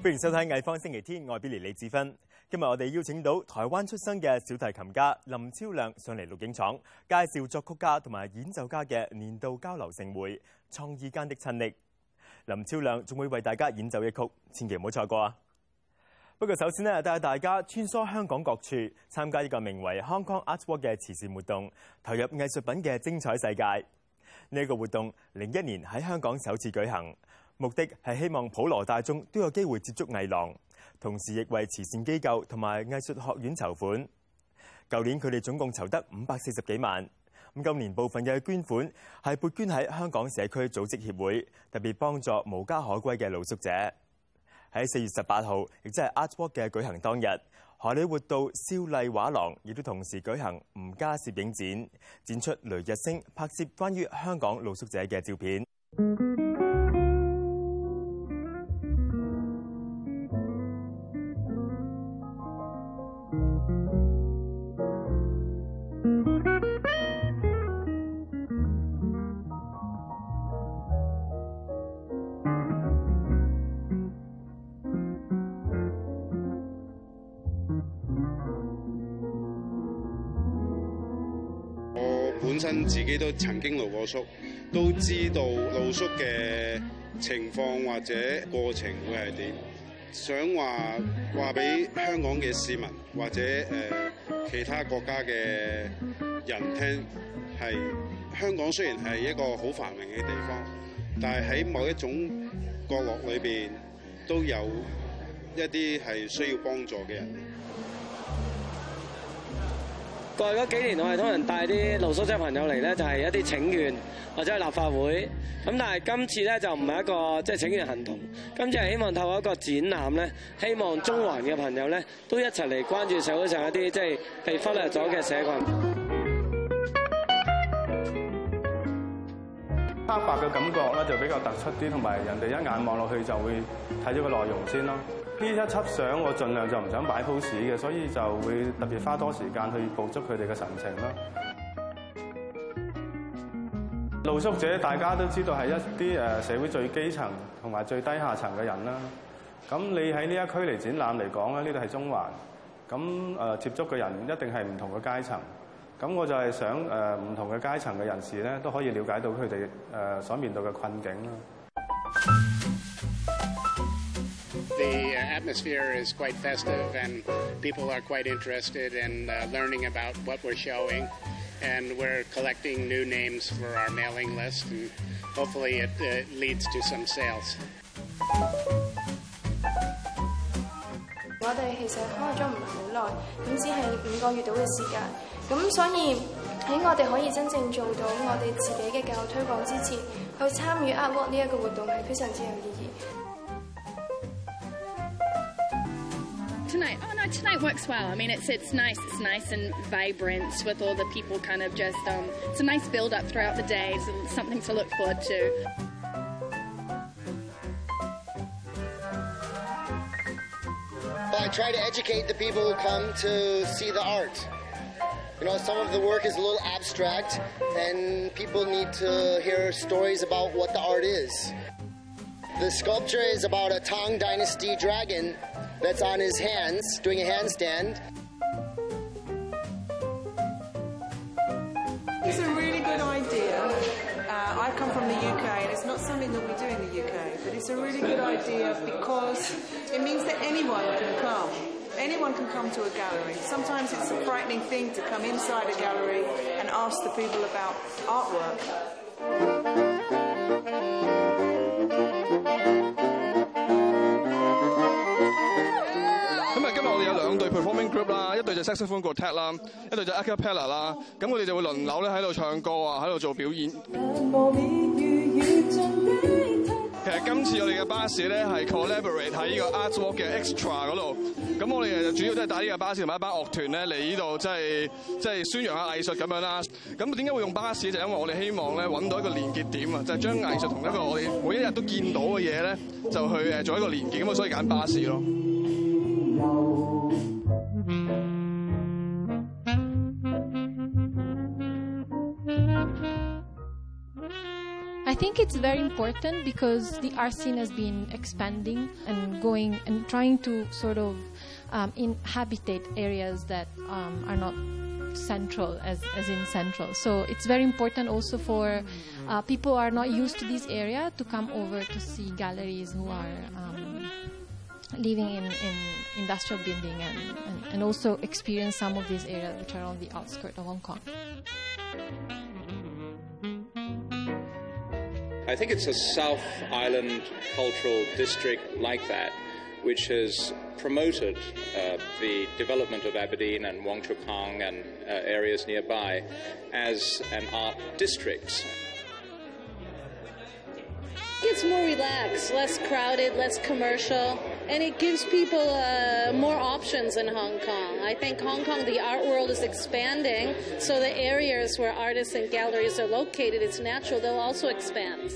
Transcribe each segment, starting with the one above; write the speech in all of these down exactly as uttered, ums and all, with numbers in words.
歡迎收睇《藝坊星期天》，我係 Billy 李志芬。今日我哋邀請到台灣出生嘅小提琴家林超亮上嚟錄影廠，介紹作曲家同埋演奏家嘅年度交流盛會《創意間的親昵》。林超亮仲會為大家演奏一曲，千祈唔好錯過啊！不過首先呢，帶大家穿梭香港各處，參加一個名為 Hong Kong Art Walk 嘅慈善活動，投入藝術品嘅精彩世界。呢、這個活動零一年喺香港首次舉行。目的係希望普羅大眾都有機會接觸藝廊，同時亦為慈善機構同埋藝術學院籌款。舊年佢哋總共籌得五百四十幾萬。咁今年部分嘅捐款係撥捐喺香港社區組織協會，特別幫助無家可歸嘅露宿者。喺四月十八號，亦即係 Art Walk 嘅舉行當日，荷里活道少麗畫廊亦都同時舉行吳家攝影展，展出雷日升拍攝關於香港露宿者嘅照片。 本身自己都曾經露過宿，都知道露宿嘅情況或者過程會係點。想話話俾香港嘅市民或者誒、呃、其他國家嘅人聽，係香港雖然係一個好繁榮嘅地方，但係喺某一種角落裏邊都有一啲係需要幫助嘅人。 過去嗰幾年，我係通常帶啲露宿者朋友嚟咧，就係一啲請願或者係立法會。咁但係今次咧就唔係一個即係請願行動，今次係希望透過一個展覽咧，希望中環嘅朋友咧都一齊嚟關注社會上一啲即係被忽略咗嘅社群。 黑白嘅感覺咧就比較突出啲，同埋人哋一眼望落去就會睇咗個內容先咯。呢一輯相我盡量就唔想擺 pose 嘅，所以就會特別花多時間去捕捉佢哋嘅神情啦。露宿者大家都知道係一啲誒社會最基層同埋最低下層嘅人啦。咁你喺呢一區嚟展覽嚟講咧，呢度係中環，咁誒接觸嘅人一定係唔同嘅階層。咁我就係想誒唔同嘅階層嘅人士咧都可以了解到佢哋誒所面對嘅困境啦。 The atmosphere is quite festive, and people are quite interested in uh, learning about what we're showing. And we're collecting new names for our mailing list, and hopefully it uh, leads to some sales. 我哋其實開咗唔係好耐，咁只係五個月到嘅時間。咁所以喺我哋可以真正做到我哋自己嘅教育推廣之前，去參與 Art Walk 呢一個活動係非常之有意義。 Tonight, oh no, tonight works well. I mean, it's it's nice. It's nice and vibrant with all the people kind of just. Um, it's a nice build up throughout the day. It's something to look forward to. Well, I try to educate the people who come to see the art. You know, some of the work is a little abstract, and people need to hear stories about what the art is. The sculpture is about a Tang Dynasty dragon that's on his hands, doing a handstand. It's a really good idea. Uh, I come from the U K, and it's not something that we do in the U K, but it's a really good idea because it means that anyone can come. Anyone can come to a gallery. Sometimes it's a frightening thing to come inside a gallery and ask the people about artwork. performing group 啦，一隊就 saxophone quartet 啦，一隊就 a cappella 啦，咁佢哋就會輪流咧喺度唱歌啊，喺度做表演。其實今次我哋嘅巴士咧係 collaborate 喺呢個 Art Walk 嘅 extra 嗰度，咁我哋就主要都係帶呢個巴士同埋一班樂團咧嚟呢度，即係即係宣揚下藝術咁樣啦。咁點解會用巴士？就因為我哋希望咧揾到一個連結點啊，就係將藝術同一個我哋每一日都見到嘅嘢咧，就去誒做一個連結，咁啊所以揀巴士咯。 I think it's very important because the art scene has been expanding and going and trying to sort of um, inhabitate areas that um, are not central as, as in central. So it's very important also for uh, people who are not used to this area to come over to see galleries who are um, living in, in industrial building and, and, and also experience some of these areas which are on the outskirts of Hong Kong. I think it's a South Island cultural district like that which has promoted uh, the development of Aberdeen and Wong Chuk Hong and uh, areas nearby as an art district. It's more relaxed, less crowded, less commercial, and it gives people uh, more options in Hong Kong. I think Hong Kong, the art world is expanding, so the areas where artists and galleries are located, it's natural they'll also expand.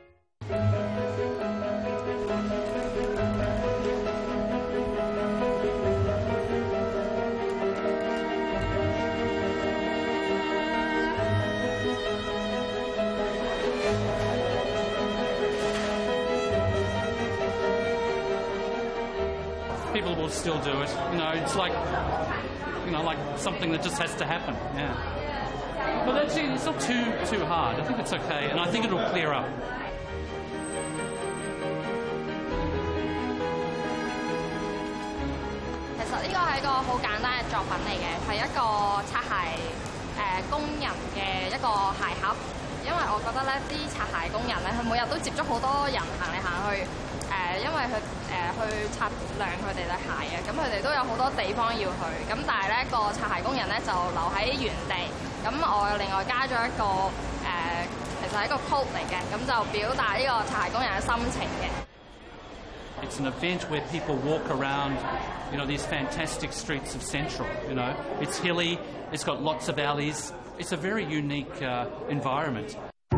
People will still do it. You know, it's like, you know, like something that just has to happen. Yeah. But that's, it's not too too hard. I think it's okay, and I think it'll clear up. 其實呢個係一個好簡單嘅作品嚟嘅，係一個擦鞋誒工人嘅一個鞋盒。因為我覺得咧，啲擦鞋工人咧，佢每日都接觸好多人行嚟行去。 誒，因為佢誒去擦亮佢哋對鞋嘅，咁佢哋都有好多地方要去，咁但係咧個擦鞋工人咧就留喺原地，咁我另外加咗一個誒，其實係一個 quote 嚟嘅，咁就表達呢個擦鞋工人嘅心情嘅。 It's an event where people walk around, you know, these fantastic streets of Central. You know, it's hilly, it's got lots of alleys. It's a very unique uh, environment.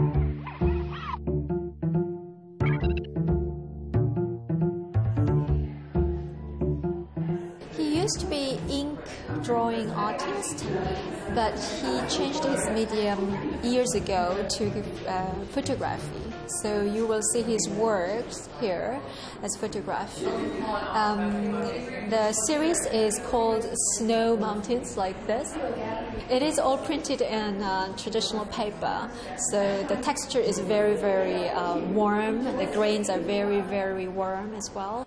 He used to be ink drawing artist, but he changed his medium years ago to uh, photography. So you will see his works here as photography. Um, the series is called Snow Mountains, like this. It is all printed in uh, traditional paper, so the texture is very, very uh, warm. The grains are very, very warm as well.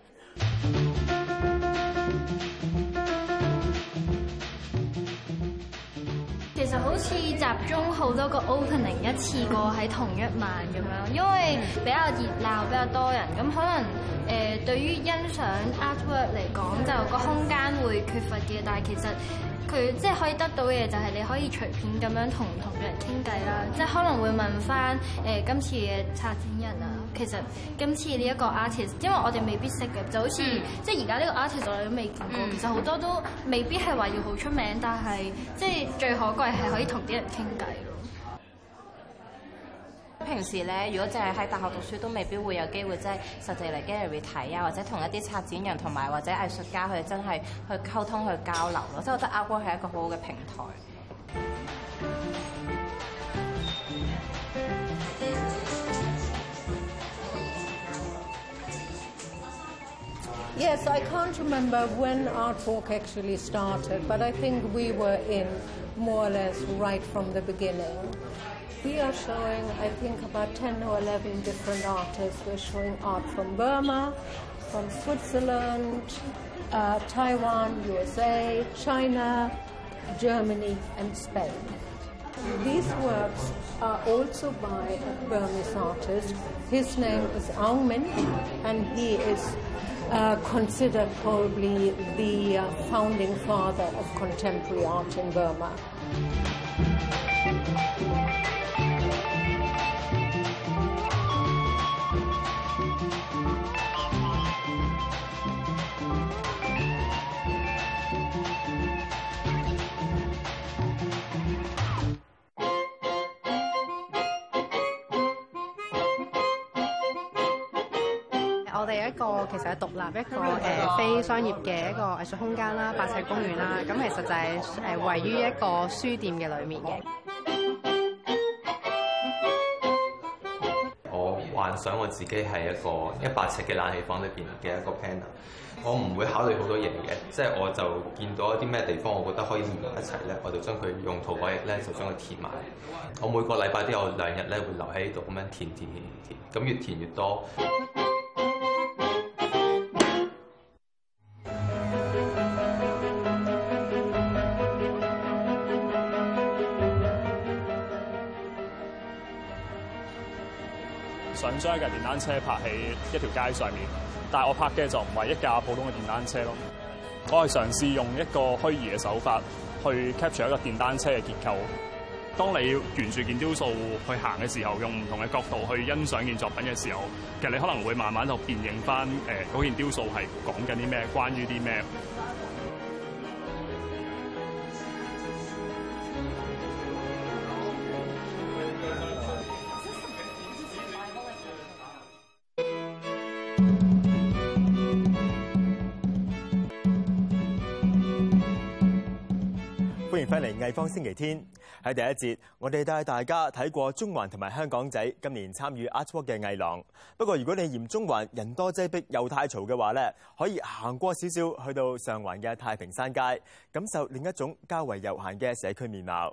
其實好似集中好多個 opening 一次過喺同一晚咁樣，因為比較熱鬧，比較多人，咁可能誒、呃、對於欣賞 artwork 嚟講，就個空間會缺乏嘅，但係其實佢即係可以得到嘅嘢就係你可以隨便咁樣同唔同嘅人傾偈啦，即係可能會問翻誒、呃、今次嘅策展人啊。 其實今次呢一個 artist， 因為我哋未必識嘅，就好似、嗯、即係而家呢個 artist 我哋都未見過。嗯、其實好多都未必係話要好出名，但係即係最可貴係可以同啲人傾偈咯。 平時咧，如果淨係喺大學讀書，都未必會有機會即係實際嚟 gallery 睇啊，或者同一啲策展人同埋或者藝術家佢哋真係去溝通去交流咯。即係我覺得 Artwork 係一個好好嘅平台。 Yes, I can't remember when Artwalk actually started, but I think we were in more or less right from the beginning. We are showing, I think, about ten or eleven different artists. We're showing art from Burma, from Switzerland, uh, Taiwan, U S A, China, Germany, and Spain. These works are also by a Burmese artist. His name is Aung Min, and he is Uh, considered probably the uh, founding father of contemporary art in Burma. 我哋一個其實係獨立一個誒、呃、非商業嘅一個藝術空間啦，八尺公園啦，咁其實就係誒位於一個書店嘅裏面嘅。 幻想我自己係一個一百尺嘅冷氣房裏邊嘅一個 planner， 我唔會考慮好多嘢嘅，即係我就見到一啲咩地方，我覺得可以連埋一齊咧，我就將佢用塗改液咧就將佢填埋。我每個禮拜都有兩日咧會留喺度咁樣填填填填，咁越填越多。 想將一架電單車泊喺一條街上面，但係我泊嘅就唔係一架普通嘅電單車咯。我係嘗試用一個虛擬嘅手法去 capture 一個電單車嘅結構。當你沿住件雕塑去行嘅時候，用唔同嘅角度去欣賞件作品嘅時候，其實你可能會慢慢就辨認翻誒嗰件雕塑係講緊啲咩，關於啲咩。 歡迎翻嚟藝坊星期天。喺第一節，我哋帶大家睇過中環同埋香港仔今年參與 Artwalk 嘅藝廊。不過如果你嫌中環人多擠迫又太嘈嘅話咧，可以行過少少去到上環嘅太平山街，感受另一種較為悠閒嘅社區面貌。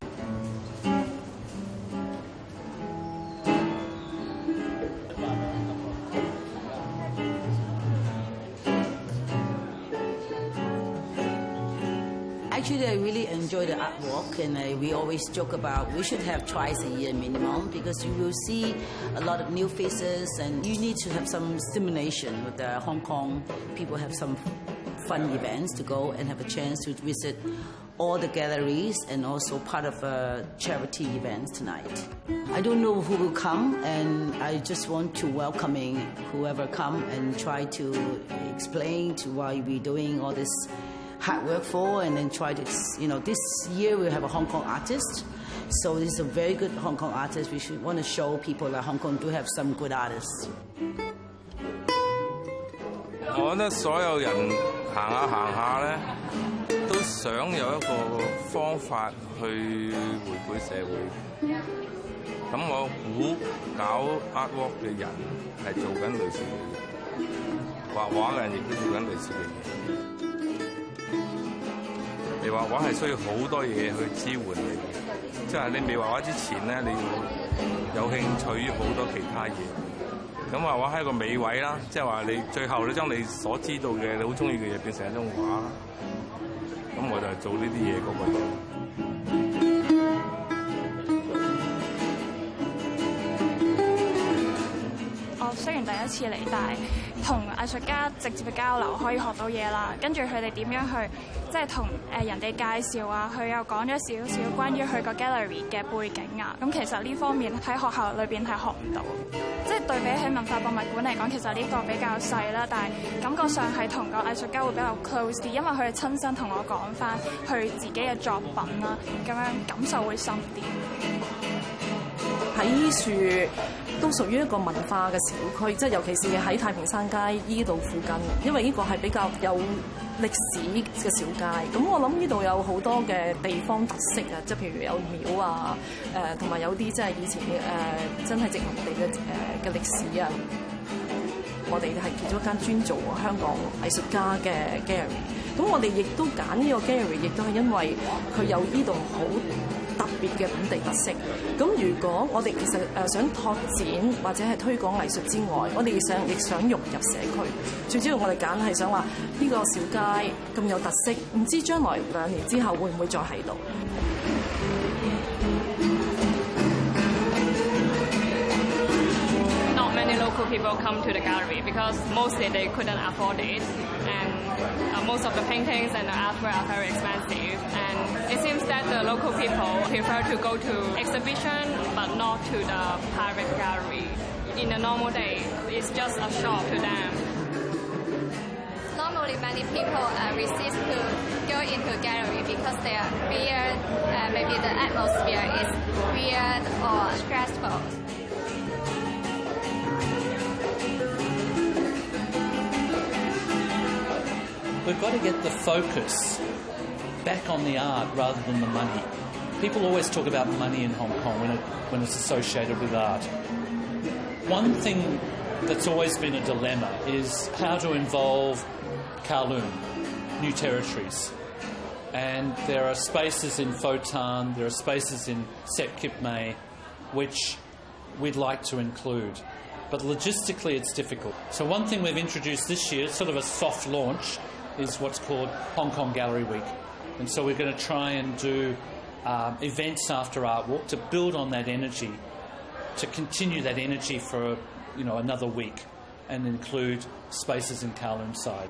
Actually, I really enjoy the art walk, and uh, we always joke about we should have twice a year minimum because you will see a lot of new faces, and you need to have some stimulation with the Hong Kong people. Have some fun events to go and have a chance to visit all the galleries and also part of a charity events tonight. I don't know who will come, and I just want to welcoming whoever come and try to explain to why we're doing all this hard work for, and then try to, you know, this year we have a Hong Kong artist, so this is a very good Hong Kong artist. We should want to show people that Hong Kong do have some good artists. 我覺得所有人行下行下咧，都想有一個方法去回饋社會。咁我估搞 artwork 嘅人係做緊類似嘅嘢，畫畫嘅人亦都做緊類似嘅嘢。你畫畫係需要好多嘢去支援你，即係你未畫畫之前咧，你要有興趣於好多其他嘢。咁畫畫係一個美位啦，即係話你最後你將你所知道嘅你好中意嘅嘢變成一種畫。咁我就係做呢啲嘢嗰個人。 我雖然第一次嚟，但係同藝術家直接嘅交流可以學到嘢啦。跟住佢哋點樣去即係同誒人哋介紹啊，佢又講咗少少關於佢個 gallery 嘅背景啊。咁其實呢方面喺學校裏邊係學唔到。即係對比起文化博物館嚟講，其實呢個比較細啦，但係感覺上係同個藝術家會比較 close 啲，因為佢哋親身同我講翻佢自己嘅作品啦，咁樣感受會深啲。 喺依樹都屬於一個文化嘅小區，即係尤其是喺太平山街依度附近，因為呢個係比較有歷史嘅小街。咁我諗呢度有好多嘅地方特色啊，即係譬如有廟啊，誒同埋有啲即係以前嘅誒、呃、真係殖民地嘅誒嘅歷史啊。我哋係其中一間專做香港藝術家嘅 gallery。咁我哋亦都揀呢個 gallery，亦都係因為佢有呢度好特別嘅本地特色。咁如果我哋其實誒想拓展或者係推廣藝術之外，我哋想亦想融入社區。最主要我哋揀係想話呢個小街咁有特色，唔知將來兩年之後會唔會再喺度 ？Not many local people come to the gallery because mostly they couldn't afford it, and uh, most of the paintings and the artwork are very expensive. And it seems that the local people prefer to go to exhibition, but not to the private gallery. In a normal day, it's just a shop to them. Normally, many people uh, resist to go into gallery because they are feared. Uh, maybe the atmosphere is weird or stressful. We've got to get the focus back on the art rather than the money. People always talk about money in Hong Kong when, it, when it's associated with art. One thing that's always been a dilemma is how to involve Kowloon, new territories. And there are spaces in Photan, there are spaces in Sep Kip Mei, which we'd like to include. But logistically, it's difficult. So one thing we've introduced this year, sort of a soft launch, is what's called Hong Kong Gallery Week. And so we're going to try and do um, events after Art Walk to build on that energy, to continue that energy for, you know, another week and include spaces in Kowloon side.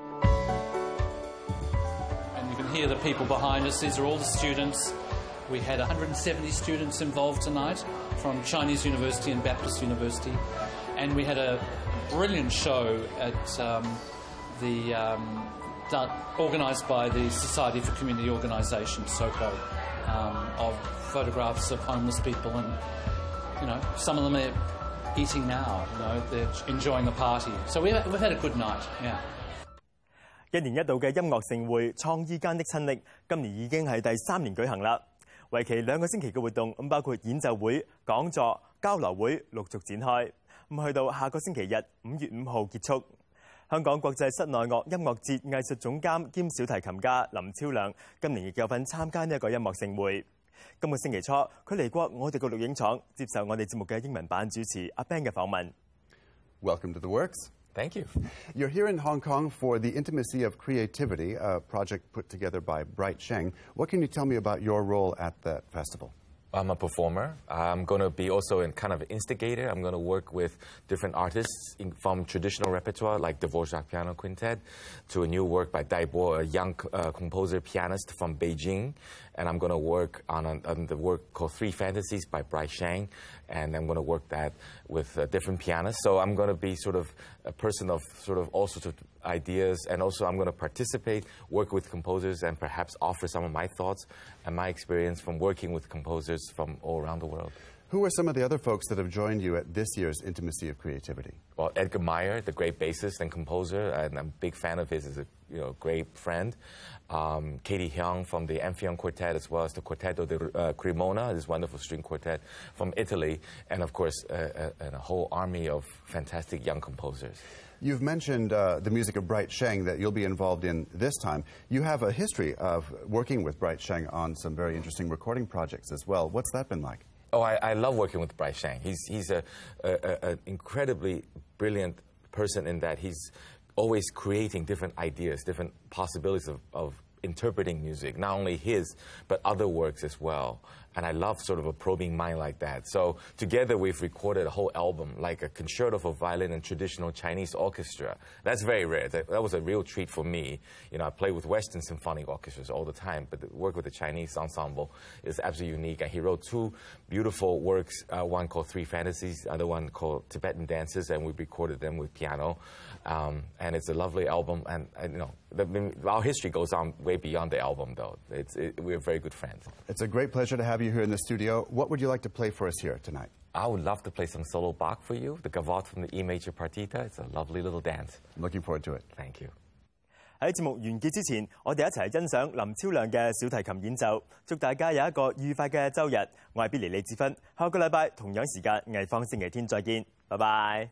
And you can hear the people behind us. These are all the students. We had one hundred seventy students involved tonight from Chinese University and Baptist University. And we had a brilliant show at um, the um, organised by the Society for Community Organisation, SOCO, um, of photographs of homeless people, and you know, some of them are eating now. You know, they're enjoying the party. So we we've had a good night. Yeah. 一年一度嘅音樂盛會創意間的親歷，今年已經係第三年舉行啦。為期兩個星期嘅活動，咁包括演奏會、講座、交流會陸續展開。咁去到下個星期日五月五號結束。香港國際室內樂音樂節藝術總監兼小提琴家林超亮今年亦有份參加呢一個音樂盛會。今個星期初，佢嚟過我哋個錄影廠，接受我哋節目嘅英文版主持阿 Ben 嘅訪問。 Welcome to the Works. Thank you. You're here in Hong Kong for the Intimacy of Creativity, a project put together by Bright Sheng. What can you tell me about your role at that festival? I'm a performer. I'm going to be also a kind of instigator. I'm going to work with different artists in, from traditional repertoire like Dvorak Piano Quintet to a new work by Dai Bo, a young uh, composer pianist from Beijing. And I'm going to work on, a, on the work called Three Fantasies by Bright Sheng. And I'm going to work that with uh, different pianists. So I'm going to be sort of a person of sort of all sorts of ideas. And also I'm going to participate, work with composers, and perhaps offer some of my thoughts and my experience from working with composers from all around the world. Who are some of the other folks that have joined you at this year's Intimacy of Creativity? Well, Edgar Meyer, the great bassist and composer, and I'm a big fan of his as a you know, great friend. Um, Katie Hyung from the Amphion Quartet, as well as the Quartetto di uh, Cremona, this wonderful string quartet from Italy, and of course, uh, uh, and a whole army of fantastic young composers. You've mentioned uh, the music of Bright Sheng that you'll be involved in this time. You have a history of working with Bright Sheng on some very interesting recording projects as well. What's that been like? Oh, I, I love working with Bright Sheng. He's, he's a, a, a, an incredibly brilliant person in that he's always creating different ideas, different possibilities of, of interpreting music, not only his, but other works as well. And I love sort of a probing mind like that. So together we've recorded a whole album, like a concerto for violin and traditional Chinese orchestra. That's very rare. That, that was a real treat for me. You know, I play with Western symphonic orchestras all the time, but the work with the Chinese ensemble is absolutely unique. And he wrote two beautiful works, uh, one called Three Fantasies, the other one called Tibetan Dances, and we recorded them with piano. Um, and it's a lovely album. And, and you know, the, our history goes on way beyond the album, though. It's, it, we're very good friends. It's a great pleasure to have you here in the studio. What would you like to play for us here tonight? I would love to play some solo Bach for you, the Gavotte from the E major partita. It's a lovely little dance. I'm looking forward to it. Thank you. 喺節目完結之前，我哋一齊欣賞林超亮嘅小提琴演奏，祝大家有一個愉快嘅週日。我係 Billy 李志芬，下個禮拜同樣時間藝坊星期天再見，拜拜。